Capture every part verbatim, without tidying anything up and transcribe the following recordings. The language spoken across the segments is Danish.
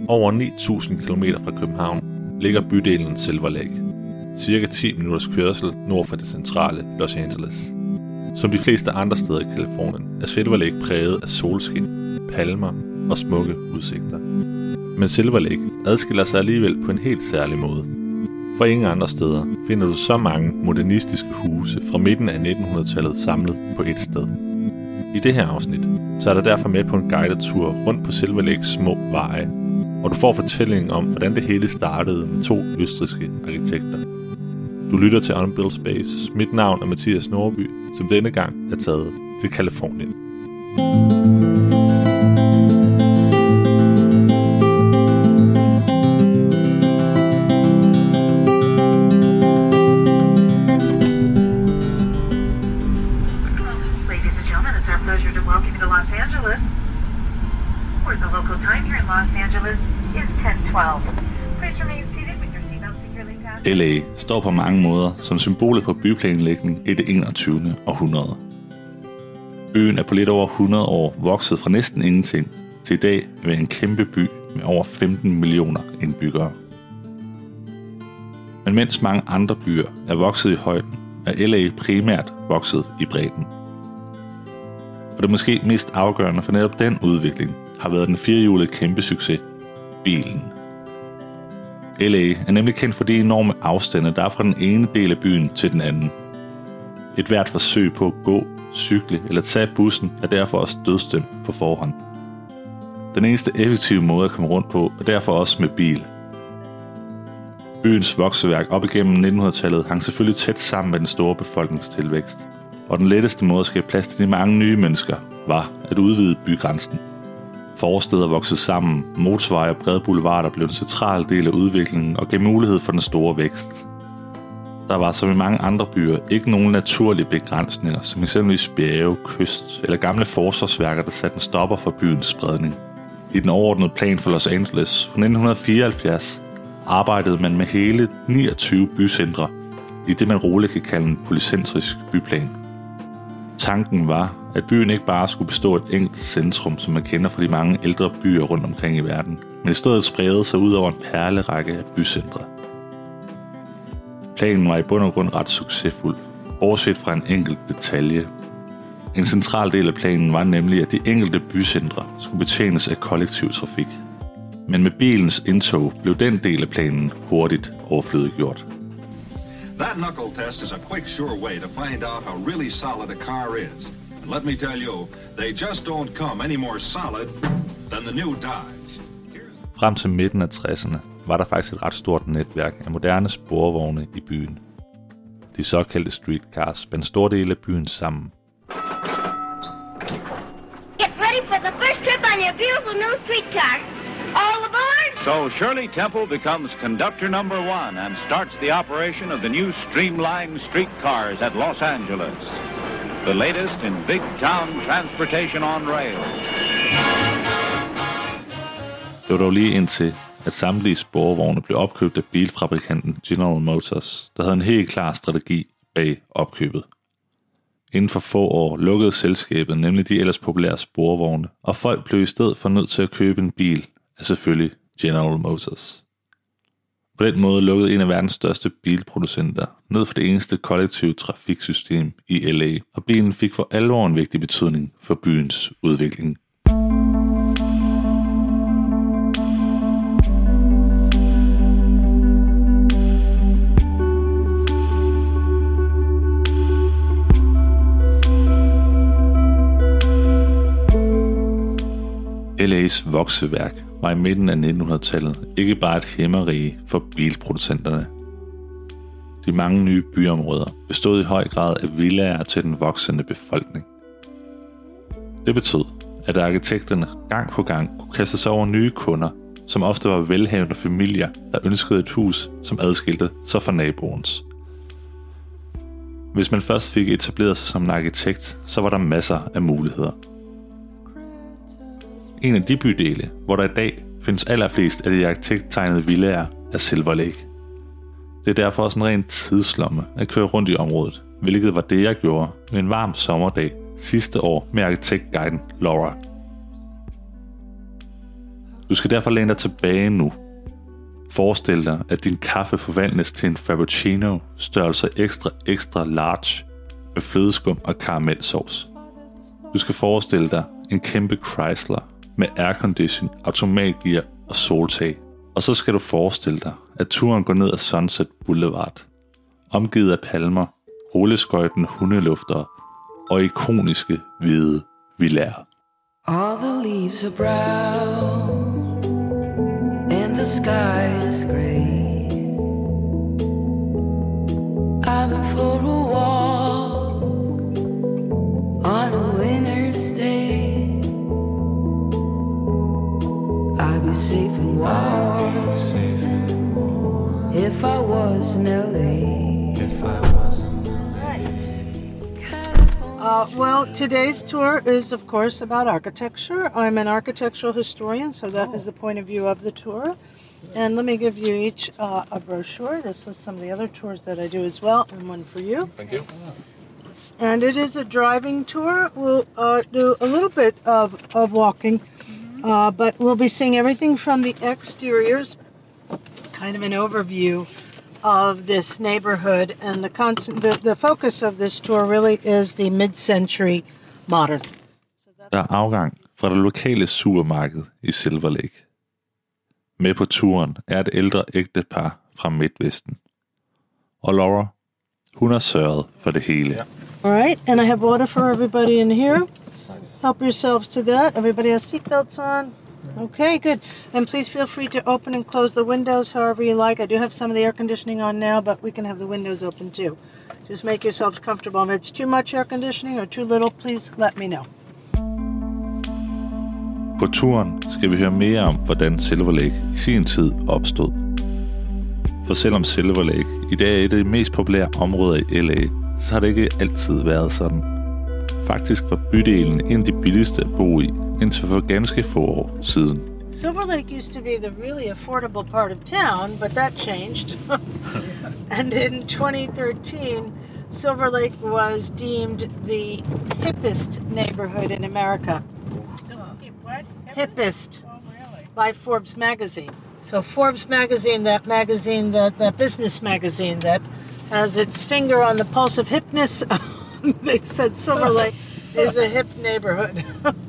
Over ni tusind kilometer fra København ligger bydelen Silver Lake, cirka ti minutters kørsel nord for det centrale Los Angeles. Som de fleste andre steder i Californien er Silver Lake præget af solskin, palmer og smukke udsigter. Men Silver Lake adskiller sig alligevel på en helt særlig måde. For ingen andre steder finder du så mange modernistiske huse fra midten af nittenhundredetallet samlet på et sted. I det her afsnit så er der derfor med på en guided tur rundt på Silver Lakes små veje, og du får fortællingen om, hvordan det hele startede med to østrigske arkitekter. Du lytter til Unbuilt Space. Mit navn er Mathias Norby, som denne gang er taget til Californien. L A står på mange måder som symbolet på byplanlægning i det enogtyvende århundrede. Byen er på lidt over hundrede år vokset fra næsten ingenting til i dag at være en kæmpe by med over femten millioner indbyggere. Men mens mange andre byer er vokset i højden, er L A primært vokset i bredden. Og det måske mest afgørende for netop den udvikling har været den firehjulede kæmpe succes, bilen. L A er nemlig kendt for de enorme afstande, der er fra den ene del af byen til den anden. Et hvert forsøg på at gå, cykle eller tage bussen er derfor også dødsdømt på forhånd. Den eneste effektive måde at komme rundt på er derfor også med bil. Byens vokseværk op igennem nittenhundredetallet hang selvfølgelig tæt sammen med den store befolkningstilvækst, og den letteste måde at skabe plads til de mange nye mennesker var at udvide bygrænsen. Forsteder voksede sammen, motorveje og brede boulevarder blev en central del af udviklingen og gav mulighed for den store vækst. Der var som i mange andre byer ikke nogen naturlige begrænsninger, som eksempelvis bjerge, kyst eller gamle forsvarsværker, der satte en stopper for byens spredning. I den overordnede plan for Los Angeles fra nitten fireoghalvfjerds arbejdede man med hele niogtyve bycentre i det man roligt kan kalde en polycentrisk byplan. Tanken var, at byen ikke bare skulle bestå af et enkelt centrum, som man kender fra de mange ældre byer rundt omkring i verden, men i stedet spredte sig ud over en perlerække af bycentre. Planen var i bund og grund ret succesfuld, bortset fra en enkelt detalje. En central del af planen var nemlig, at de enkelte bycentre skulle betjenes af kollektiv trafik. Men med bilens indtog blev den del af planen hurtigt overflødiggjort. That knuckle test is a quick, sure way to find out how really solid a car is. And let me tell you, they just don't come any more solid than the new Dodge. Frem til midten af tresserne var der faktisk et ret stort netværk af moderne sporvogne i byen. De såkaldte streetcars spændte store dele af byen sammen. Get ready for the first trip on your beautiful new streetcar. All aboard! So Shirley Temple becomes conductor number one and starts the operation of the new streamlined streetcars at Los Angeles. The latest in big town transportation on rail. Det var dog lige indtil, at samtlige sporvogne blev opkøbt af bilfabrikanten General Motors, der havde en helt klar strategi bag opkøbet. Inden for få år lukkede selskabet nemlig de ellers populære sporvogne, og folk blev i stedet for nødt til at købe en bil af selvfølgelig General Motors. På den måde lukkede en af verdens største bilproducenter ned for det eneste kollektive trafiksystem i L A, og bilen fik for alvor en vigtig betydning for byens udvikling. L A's vokseværk var i midten af nittenhundredetallet ikke bare et hæmmerige for bilproducenterne. De mange nye byområder bestod i høj grad af villaer til den voksende befolkning. Det betød, at arkitekterne gang på gang kunne kaste sig over nye kunder, som ofte var velhavende familier, der ønskede et hus, som adskilte sig fra naboens. Hvis man først fik etableret sig som en arkitekt, så var der masser af muligheder. En af de bydele, hvor der i dag findes allerflest af de arkitekttegnede villaer, er Silver Lake. Det er derfor også en ren tidslomme at køre rundt i området, hvilket var det, jeg gjorde med en varm sommerdag sidste år med arkitektguiden Laura. Du skal derfor læne dig tilbage nu. Forestil dig, at din kaffe forvandles til en frappuccino størrelse ekstra ekstra large med flødeskum og karamelsauce. Du skal forestille dig en kæmpe Chrysler med aircondition, automatgear og soltag. Og så skal du forestille dig, at turen går ned ad Sunset Boulevard, omgivet af palmer, rulleskøjten hundeluftere og ikoniske hvide villaer. All the leaves are brown and the sky is gray. I've been for a walk on a winter's day. I'd be safe and warm if I was in L A. If I was in L A. Uh, well, today's tour is, of course, about architecture. I'm an architectural historian, so that oh. is the point of view of the tour. And let me give you each uh, a brochure. This lists some of the other tours that I do as well, and one for you. Thank you. And it is a driving tour. We'll uh, do a little bit of, of walking, uh, but we'll be seeing everything from the exteriors, kind of an overview of this neighborhood, and the, constant, the the focus of this tour really is the mid-century modern. Der er afgang fra det lokale supermarked i Silver Lake. Med på turen er et ældre ægtepar fra Midtvesten. Og Laura, hun har sørget for det hele. All right, and I have water for everybody in here. Help yourselves to that. Everybody has seatbelts on. Okay, good. And please feel free to open and close the windows however you like. I do have some of the air conditioning on now, but we can have the windows open too. Just make yourselves comfortable. If it's too much air conditioning or too little, please let me know. På turen skal vi høre mere om, hvordan Silver Lake i sin tid opstod. For selvom Silver Lake i dag er et af de mest populære områder i L A, så har det ikke altid været sådan. Faktisk var bydelen en af de billigste at bo i, indtil for ganske få år siden. Silver Lake used to be the really affordable part of town, but that changed. And in twenty thirteen, Silver Lake was deemed the hippest neighborhood in America. What? Hippest. Oh, really? By Forbes magazine. So Forbes magazine, that magazine, that, that business magazine that has its finger on the pulse of hipness, they said Silver Lake is a hip neighborhood.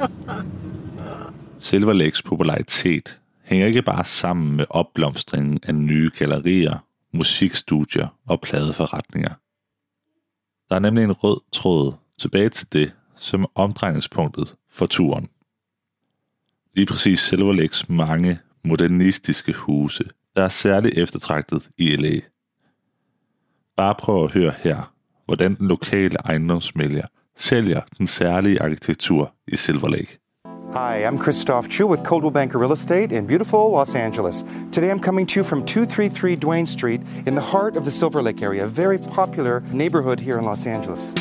Silver Lakes popularitet hænger ikke bare sammen med opblomstringen af nye gallerier, musikstudier og pladeforretninger. Der er nemlig en rød tråd tilbage til det, som er omdrejningspunktet for turen. Lige præcis Silver Lakes mange modernistiske huse, der er særligt eftertragtet i L A. Bare prøv at høre her, hvordan den lokale ejendomsmælger sælger den særlige arkitektur i Silver Lake. Hi, I'm Christoph Chu with Coldwell Banker Real Estate in beautiful Los Angeles. Today I'm coming to you from two thirty-three Duane Street in the heart of the Silver Lake area, a very popular neighborhood here in Los Angeles.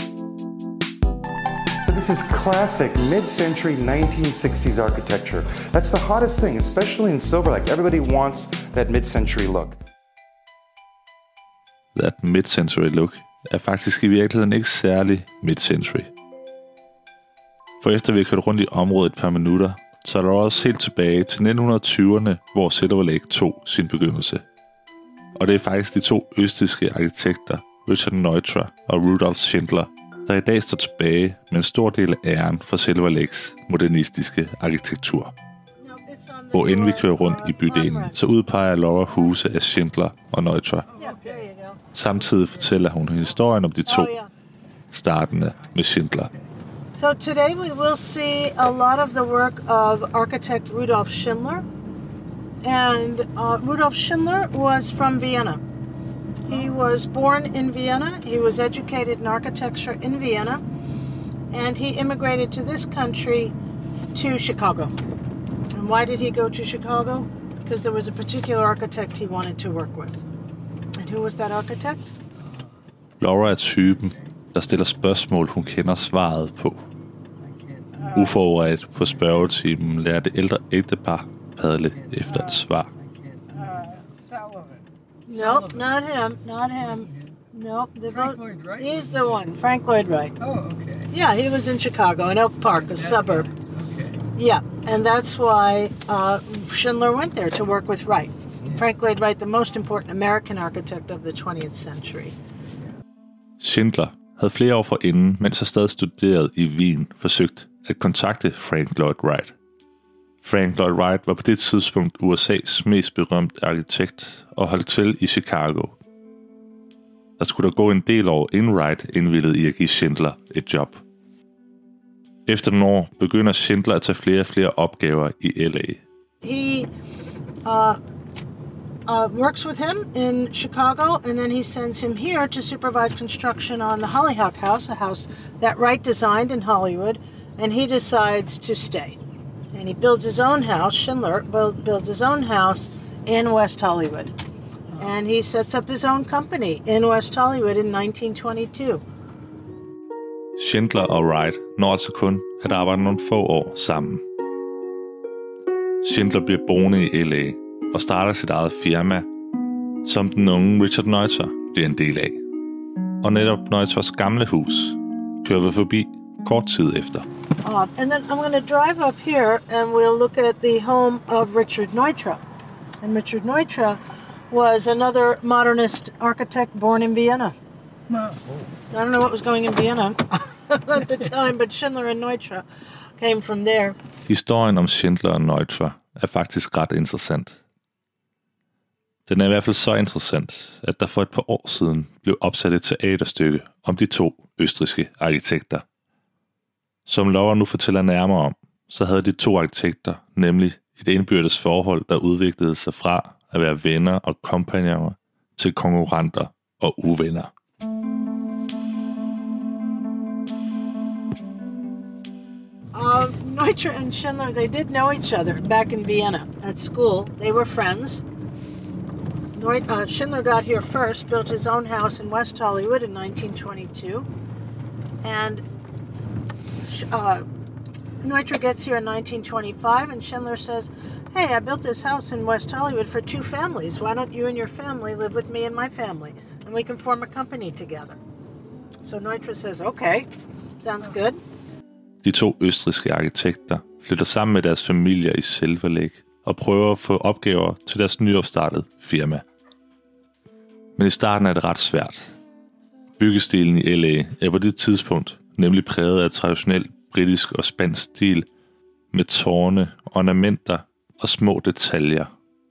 So this is classic mid-century nineteen sixties architecture. That's the hottest thing, especially in Silver Lake. Everybody wants that mid-century look. That mid-century look er faktisk i virkeligheden ikke særlig mid-century. For efter vi har kørt rundt i området et par minutter, så er der også helt tilbage til nitten tyverne, hvor Silver Lake tog sin begyndelse. Og det er faktisk de to østrigske arkitekter, Richard Neutra og Rudolf Schindler, der i dag står tilbage med en stor del af æren for Silver Lakes modernistiske arkitektur. Hvor inden vi kører rundt i bydelen, så udpeger Laura huse af Schindler og Neutra. Samtidig fortæller hun historien om de to, startende med Schindler. So today we will see a lot of the work of architect Rudolf Schindler. And uh, Rudolf Schindler was from Vienna. He was born in Vienna. He was educated in architecture in Vienna. And he immigrated to this country to Chicago. And why did he go to Chicago? Because there was a particular architect he wanted to work with. And who was that architect? Laura er typen, der stiller spørgsmål, hun kender svaret på. Uforberedt på spørgetimen lærer det ældre ægtepar padle efter et svar. Nope, not him, not him. Nope, the Frank Lloyd Wright? He's the one, Frank Lloyd Wright. Oh, okay. Yeah, he was in Chicago, in Oak Park, a suburb. Okay. Yeah, and that's why uh, Schindler went there to work with Wright. Frank Lloyd Wright, the most important American architect of the twentieth century. Schindler havde flere år forinden, mens han stadig studerede i Wien, forsøgt at kontakte Frank Lloyd Wright. Frank Lloyd Wright var på det tidspunkt U S A's mest berømte arkitekt og holdt til i Chicago. Der skulle der gå en del år, inden Wright indvilligede i at give Schindler et job. Efter nogle år begynder Schindler at tage flere og flere opgaver i L A. He uh, uh, works with him in Chicago, and then he sends him here to supervise construction on the Hollyhock House, a house that Wright designed in Hollywood, and he decides to stay. And he builds his own house, Schindler builds his own house in West Hollywood. And he sets up his own company in West Hollywood in nineteen twenty-two. Schindler og Wright når altså kun at arbejde nogle få år sammen. Schindler bliver boende i L A og starter sit eget firma, som den unge Richard Neutra bliver en del af. Og netop Neutras gamle hus kører vi forbi kort tid efter. Uh, and then I'm going to drive up here and we'll look at the home of Richard Neutra. And Richard Neutra was another modernist architect born in Vienna. I don't know what was going in Vienna at the time, but Schindler and Neutra came from there. Historien om Schindler og Neutra er faktisk ret interessant. Den er i hvert fald så interessant, at der for et par år siden blev opsat et teaterstykke om de to østrigske arkitekter. Som Laura nu fortæller nærmere om, så havde de to arkitekter nemlig et indbyrdes forhold, der udviklede sig fra at være venner og kompagnoner til konkurrenter og uvenner. Um, Neutra and Schindler, they did know each other back in Vienna at school. They were friends. Neut- uh, Schindler got here first, built his own house in West Hollywood in nineteen twenty-two. And uh, Neutra gets here in nineteen twenty-five, and Schindler says, hey, I built this house in West Hollywood for two families. Why don't you and your family live with me and my family? And we can form a company together. So Neutra says, okay, sounds good. De to østrigske arkitekter flytter sammen med deres familier i Silver Lake og prøver at få opgaver til deres nyopstartede firma. Men i starten er det ret svært. Byggestilen i L A er på det tidspunkt nemlig præget af traditionel britisk og spansk stil med tårne, ornamenter og små detaljer.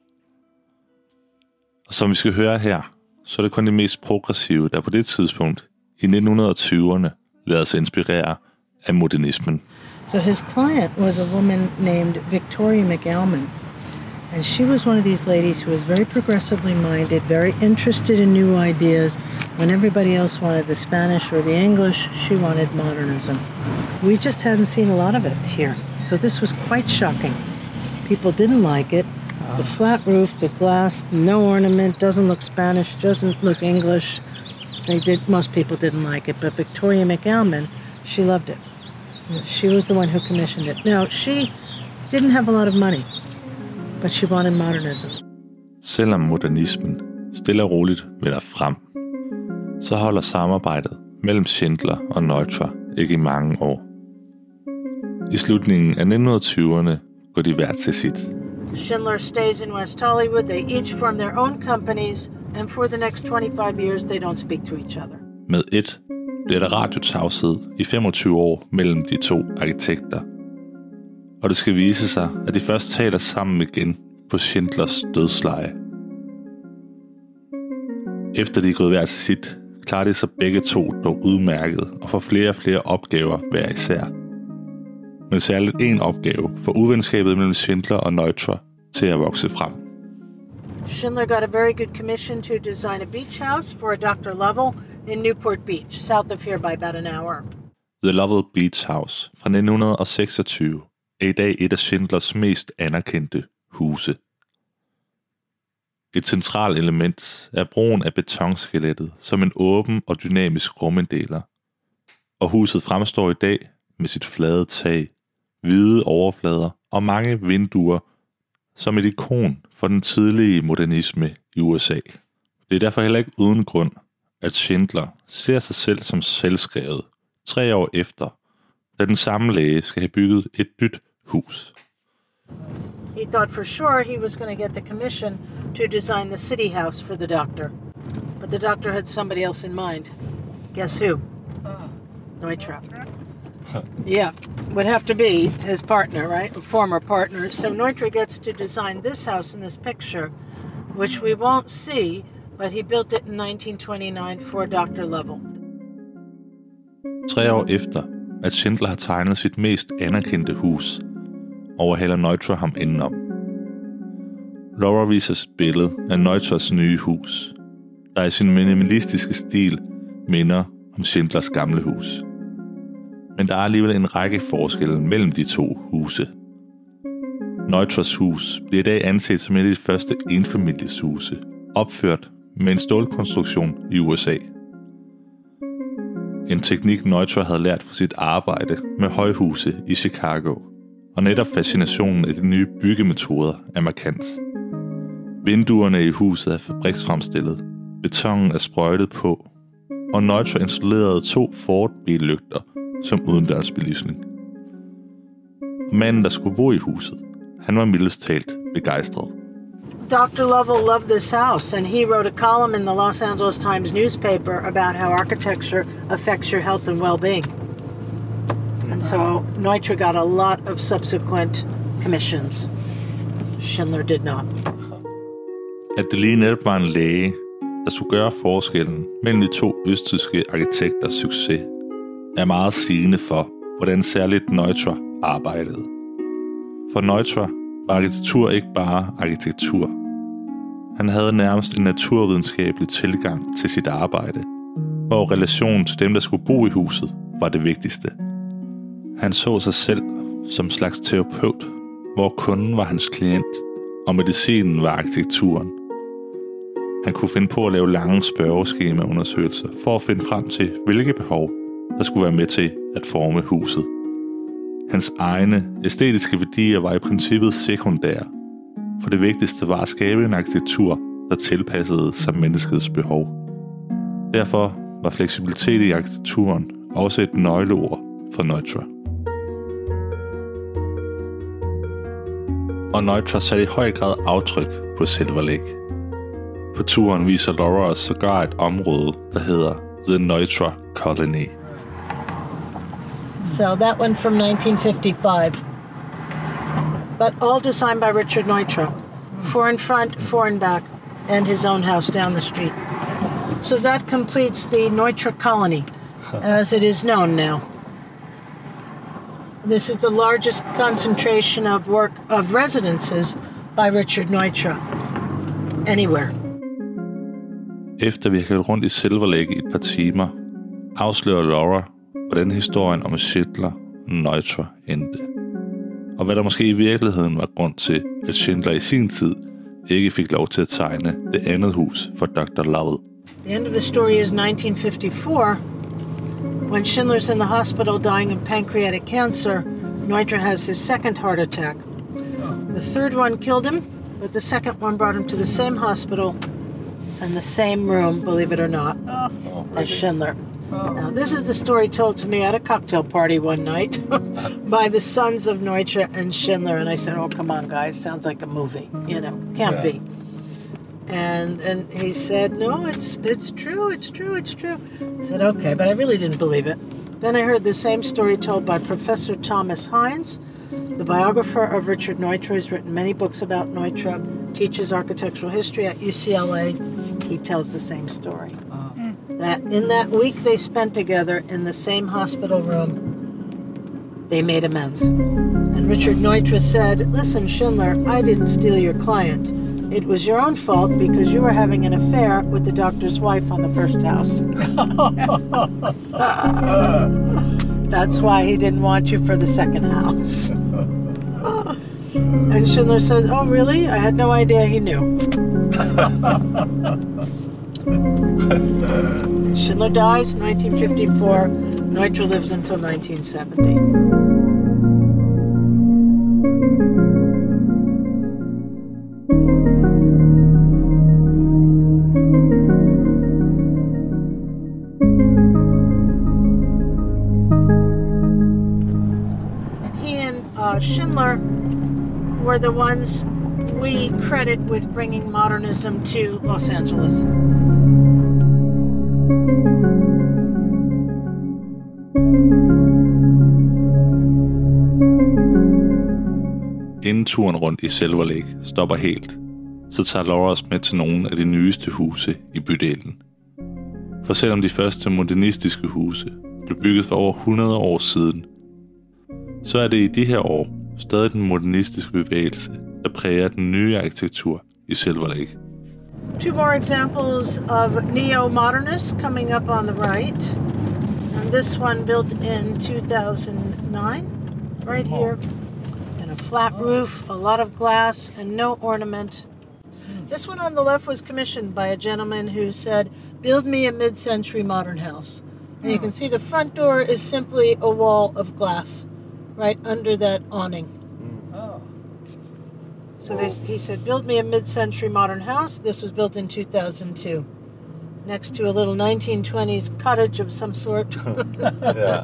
Og som vi skal høre her, så er det kun de mest progressive, der på det tidspunkt i nitten tyverne lader sig inspirere af modernismen. So his client was a woman named Victoria McAlmon, and she was one of these ladies who was very progressively minded, very interested in new ideas. When everybody else wanted the Spanish or the English, she wanted modernism. We just hadn't seen a lot of it here, so this was quite shocking. People didn't like it. The flat roof, the glass, no ornament, doesn't look Spanish, doesn't look English. They did. Most people didn't like it, but Victoria McAlmon, she loved it. She was the one who commissioned it. Now, she didn't have a lot of money, but she wanted modernism. Selvom modernismen stille og roligt vender frem, så holder samarbejdet mellem Schindler og Neutra ikke i mange år. I slutningen af nitten tyverne går de hver til sit. Schindler stays in West Hollywood. They each form their own companies, and for the next twenty-five years, they don't speak to each other. Med et bliver der radiotavshed i femogtyve år mellem de to arkitekter. Og det skal vise sig, at de først taler sammen igen på Schindlers dødsleje. Efter de er gået hver til sit, klarer de sig begge to dog udmærket og får flere og flere opgaver hver især. Men særligt en opgave får uvenskabet mellem Schindler og Neutra til at vokse frem. Schindler got a very good commission to design a beach house for a doctor Lovell in Newport Beach, south of here by about an hour. The Lovell Beach House fra nitten seksogtyve er i dag et af Schindlers mest anerkendte huse. Et centralt element er brugen af betonskelettet som en åben og dynamisk ruminddeler. Og huset fremstår i dag med sit flade tag, hvide overflader og mange vinduer som et ikon for den tidlige modernisme i U S A. Det er derfor heller ikke uden grund, at Schindler ser sig selv som selvskrevet tre år efter, da den samme læge skal have bygget et nyt hus. He thought for sure he was going to get the commission to design the city house for the doctor. But the doctor had somebody else in mind. Guess who? Neutra. Yeah, would have to be his partner, right? A former partner. So Neutra gets to design this house in this picture, which we won't see, but he built it in nineteen twenty-nine for doctor Lovell. Tre år efter, at Schindler har tegnet sit mest anerkendte hus, overhaler Neutra ham indenom. Laura viser et billede af Neutras nye hus, der i sin minimalistiske stil minder om Schindlers gamle hus. Men der er alligevel en række forskelle mellem de to huse. Neutras hus bliver i dag anset som et af de første enfamilieshuse, opført med en stålkonstruktion i U S A. En teknik Neutra havde lært fra sit arbejde med højhuse i Chicago, og netop fascinationen af de nye byggemetoder er markant. Vinduerne i huset er fabriksfremstillet, betonen er sprøjtet på, og Neutra installerede to Ford-billygter som udendørs belysning. Og manden, der skulle bo i huset, han var mildest talt begejstret. doctor Lovell loved this house, and he wrote a column in the Los Angeles Times newspaper about how architecture affects your health and well-being. And so Neutra got a lot of subsequent commissions. Schindler did not. At det lige netop var en læge, der skulle gøre forskellen mellem de to østtyske arkitekters succes, er meget sigende for, hvordan særligt Neutra arbejdede. For Neutra var arkitektur ikke bare arkitektur. Han havde nærmest en naturvidenskabelig tilgang til sit arbejde, hvor relationen til dem, der skulle bo i huset, var det vigtigste. Han så sig selv som slags terapeut, hvor kunden var hans klient, og medicinen var arkitekturen. Han kunne finde på at lave lange spørgeskemaundersøgelser for at finde frem til, hvilke behov, der skulle være med til at forme huset. Hans egne æstetiske værdier var i princippet sekundære, for det vigtigste var at skabe en arkitektur, der tilpassede sig menneskets behov. Derfor var fleksibilitet i arkitekturen også et nøgleord for Neutra. Og Neutra satte i høj grad aftryk på Silver Lake. På turen viser Laura os sågar et område, der hedder The Neutra Colony. So that one from nineteen fifty-five. But all designed by Richard Neutra. Four in front, four in back, and his own house down the street. So that completes the Neutra Colony, as it is known now. This is the largest concentration of work of residences by Richard Neutra anywhere. Efter vi har kørt rundt i Silver Lake i et par timer, afslører Laura, hvordan historien om Schindler og Neutra endte. Og hvad der måske i virkeligheden var grund til, at Schindler i sin tid ikke fik lov til at tegne det andet hus for doktor Lovell. The end of the story is nineteen fifty-four. When Schindler's in the hospital dying of pancreatic cancer, Neutra has his second heart attack. The third one killed him, but the second one brought him to the same hospital and the same room, believe it or not, as Schindler. Now, this is the story told to me at a cocktail party one night by the sons of Neutra and Schindler. And I said, oh, come on, guys, sounds like a movie. You know, can't yeah. be. And and he said, no, it's it's true, it's true, it's true. I said, okay, but I really didn't believe it. Then I heard the same story told by Professor Thomas Hines, the biographer of Richard Neutra. He's written many books about Neutra, teaches architectural history at U C L A. He tells the same story. That in that week they spent together in the same hospital room, they made amends. And Richard Neutra said, listen, Schindler, I didn't steal your client. It was your own fault because you were having an affair with the doctor's wife on the first house. That's why he didn't want you for the second house. And Schindler says, oh, really? I had no idea he knew. Schindler dies in nineteen fifty-four. Neutra lives until nineteen seventy. Schindler were the ones we credit with bringing modernism to Los Angeles. Inden turen rundt i Silver Lake stopper helt, så tager Laura os med til nogle af de nyeste huse i bydelen. For selvom de første modernistiske huse blev bygget for over hundrede år siden, så er det i de her år stadig den modernistiske bevægelse, der præger den nye arkitektur i Silver Lake. Two more examples of neo-modernists coming up on the right. And this one built in two thousand nine, right here. And a flat roof, a lot of glass, and no ornament. This one on the left was commissioned by a gentleman who said, build me a mid-century modern house. And you can see the front door is simply a wall of glass right under that awning. Oh. So they, he said, build me a mid-century modern house. This was built in two thousand two. Next to a little nineteen twenties cottage of some sort. Yeah.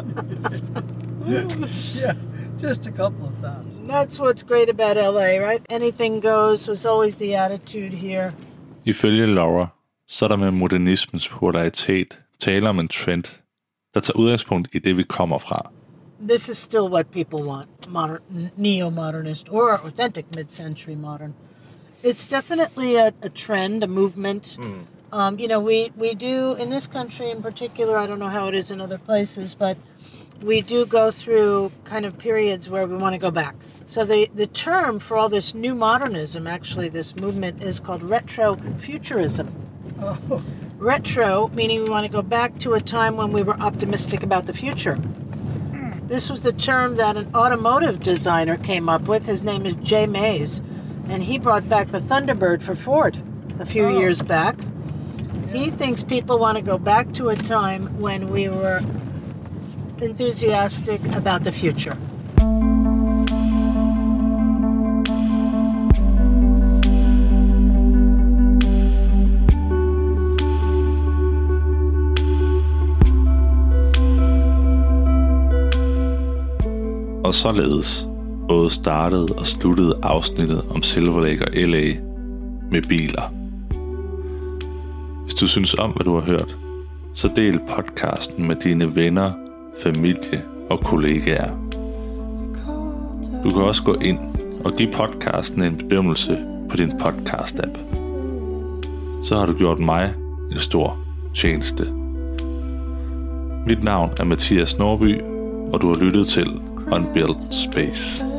Yeah, just a couple of thousand. That's what's great about L A, right? Anything goes was always the attitude here. Ifølge Laura, så er der med modernismens popularitet tale om en trend, der tager udgangspunkt i det, vi kommer fra. This is still what people want, modern, neo-modernist or authentic mid-century modern. It's definitely a, a trend, a movement. Mm. Um, you know, we, we do, in this country in particular, I don't know how it is in other places, but we do go through kind of periods where we want to go back. So the, the term for all this new modernism, actually this movement, is called retrofuturism. Oh. Retro, meaning we want to go back to a time when we were optimistic about the future. This was the term that an automotive designer came up with. His name is Jay Mays, and he brought back the Thunderbird for Ford a few Oh. years back. He thinks people want to go back to a time when we were enthusiastic about the future. Og således både startede og sluttede afsnittet om Silver Lake og L A med biler. Hvis du synes om, hvad du har hørt, så del podcasten med dine venner, familie og kollegaer. Du kan også gå ind og give podcasten en bedømmelse på din podcast-app. Så har du gjort mig en stor tjeneste. Mit navn er Mathias Norby, og du har lyttet til Unbuilt Space.